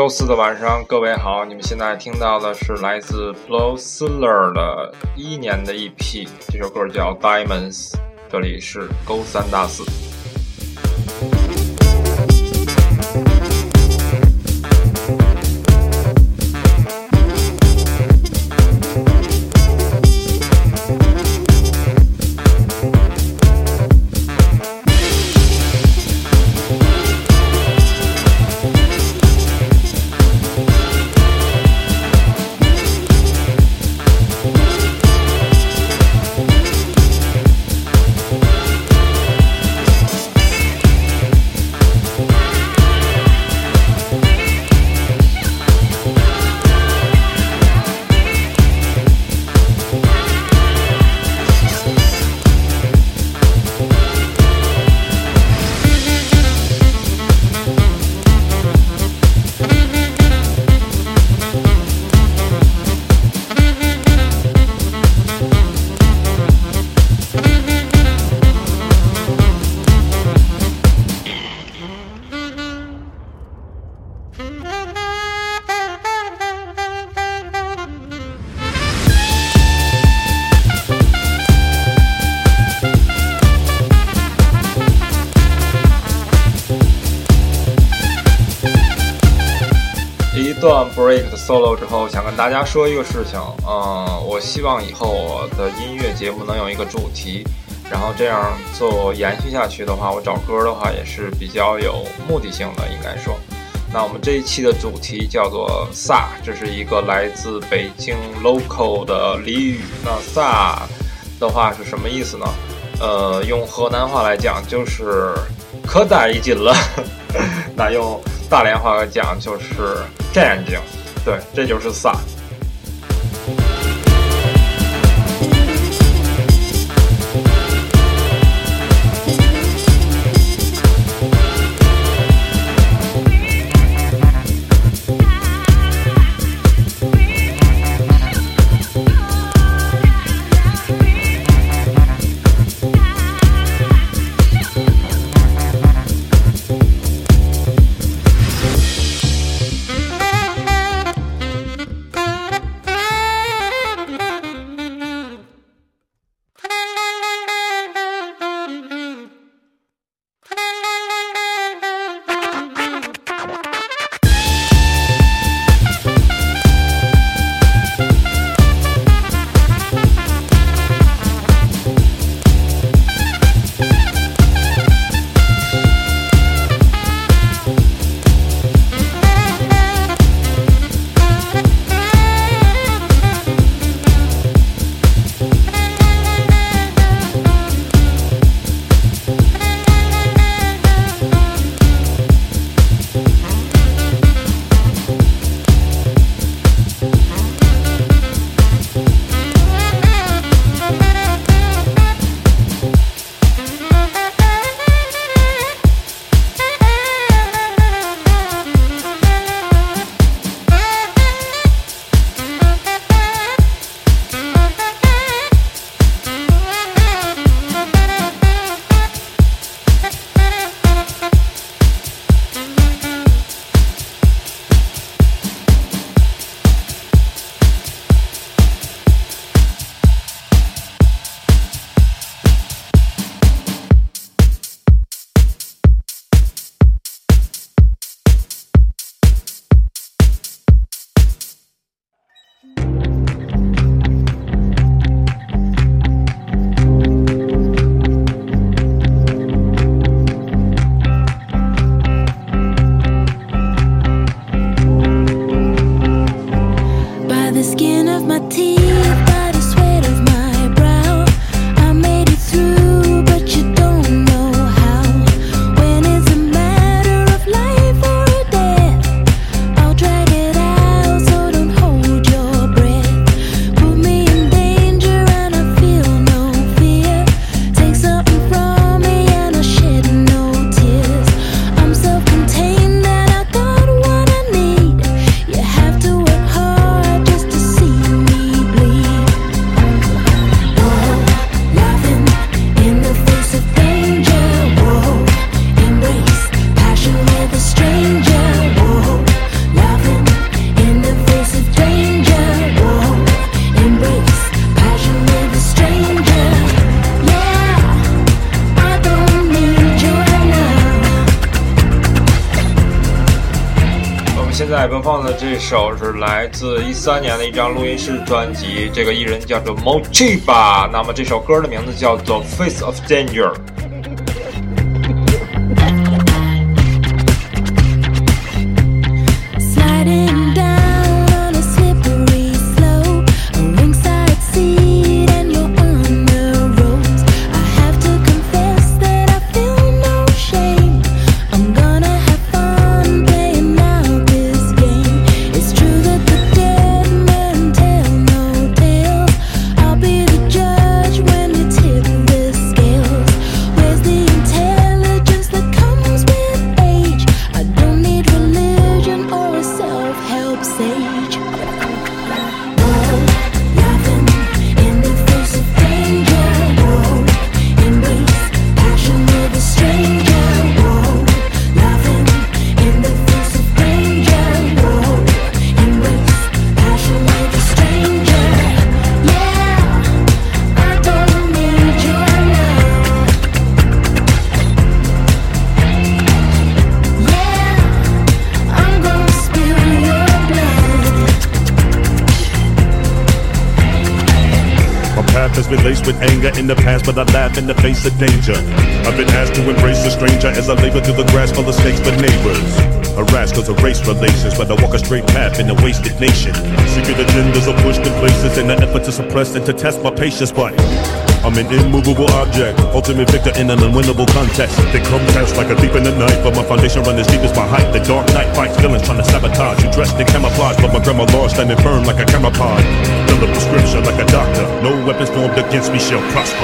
四的晚上，各位好，你们现在听到的是来自 Blowsiller 的2011年的 EP， 这首歌叫 Diamonds， 这里是勾三搭四。一段 break 的 solo 之后，想跟大家说一个事情，我希望以后我的音乐节目能有一个主题，然后这样做延续下去的话，我找歌的话也是比较有目的性的，应该说。那我们这一期的主题叫做飒，这是一个来自北京 local 的俚语。那飒的话是什么意思呢？用河南话来讲就是可带一劲了，那用大连话来讲就是战劲，对，这就是飒。 bleed. 播放的这首是来自13年的一张录音室专辑，这个艺人叫做 Mochiba， 那么这首歌的名字叫做 Face of Danger。 Has been laced with anger in the past, but I laugh in the face of danger. I've been asked to embrace a stranger as I labor through the grass full of snakes for neighbors. Harassed cause of race relations, but I walk a straight path in a wasted nation. Secret agendas are pushed in places in an effort to suppress and to test my patience, but I'm an immovable object, ultimate victor in an unwinnable contest. They come test like a thief in the night, but my foundation run as deep as my height. The dark night fights villains trying to sabotage. You dressed in camouflage, but my grandma law standing firm like a camouflage. Fill a prescription like a doctor. No weapons formed against me shall prosper.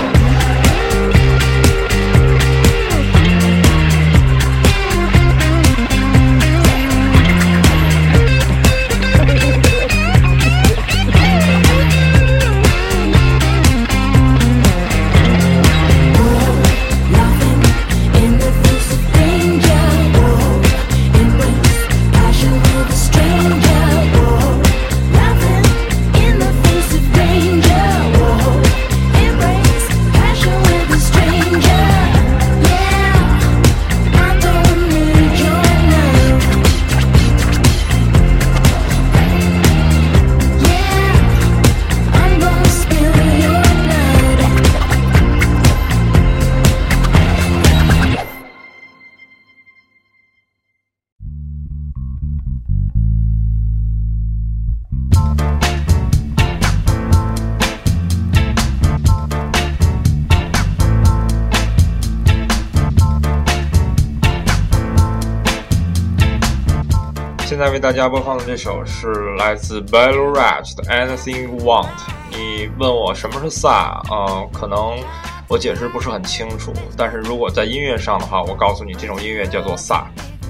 现在为大家播放的这首是来自 Battle Rage 的 Anything You Want。 你问我什么是 Sa， 可能我解释不是很清楚，但是如果在音乐上的话，我告诉你这种音乐叫做 Sa。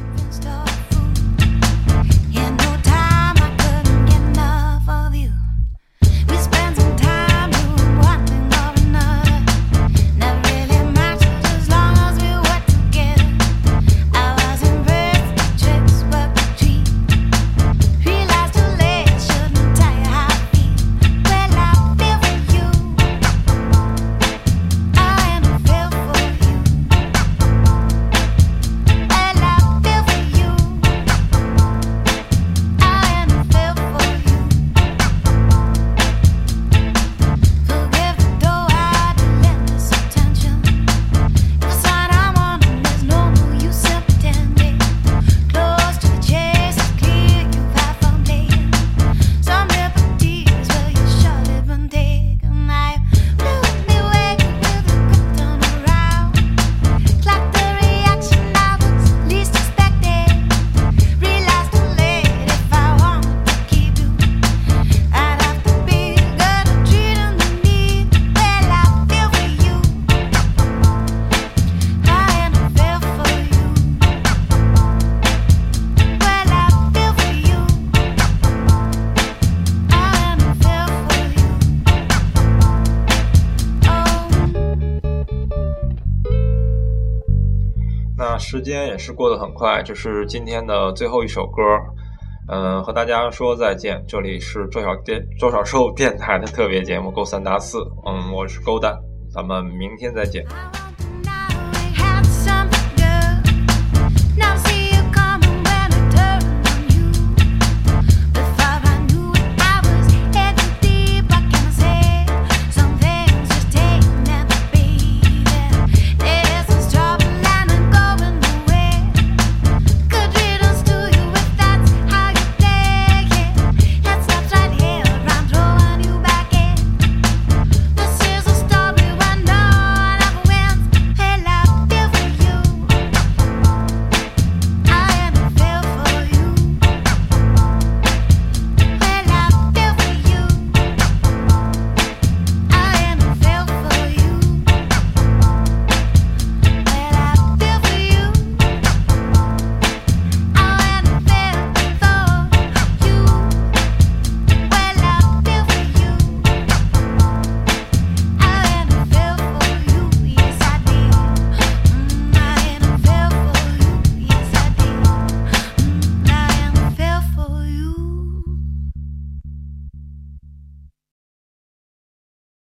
那时间也是过得很快，这是今天的最后一首歌，和大家说再见。这里是周小兽电台的特别节目勾三搭四，我是勾蛋，咱们明天再见。